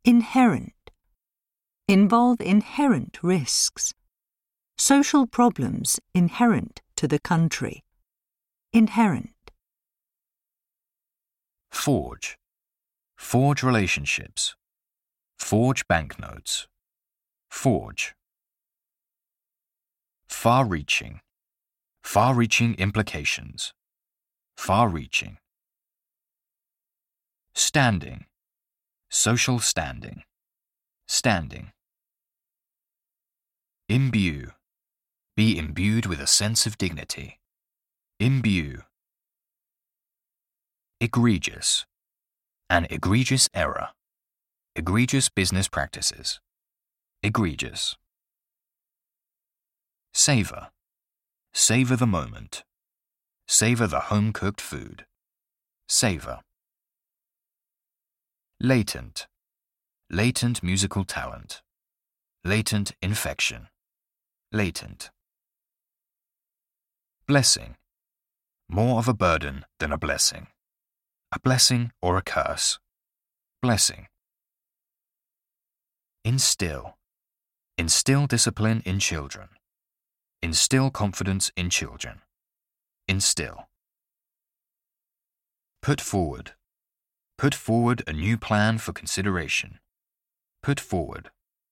Inherent. Involve inherent risks. Social problems inherent to the country. Inherent. Forge. Forge relationships. Forge banknotes. Forge. Far-reaching. Far-reaching implications. Far-reaching. Standing. Social standing. Standing. Imbue. Be imbued with a sense of dignity. Imbue. Egregious. An egregious error. Egregious business practices. Egregious. Savor. Savor the moment. Savor the home-cooked food. Savor. Latent. Latent musical talent. Latent infection. Latent. Blessing. More of a burden than a blessing. A blessing or a curse. Blessing. Instill. Instill discipline in children. Instill confidence in children. Instill. Put forward. Put forward a new plan for consideration. Put forward.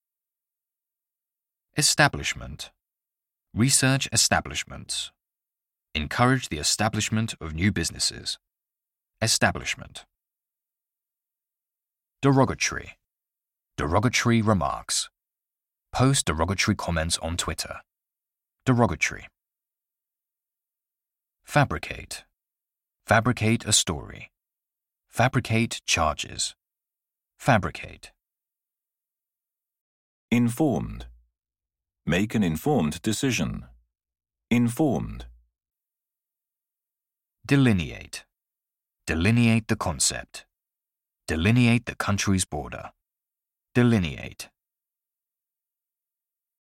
Establishment. Research establishments. Encourage the establishment of new businesses. Establishment. Derogatory. Derogatory remarks. Post derogatory comments on Twitter. Derogatory. Fabricate. Fabricate a story. Fabricate charges. Fabricate. Informed. Make an informed decision. Informed. Delineate. Delineate the concept. Delineate the country's border. Delineate.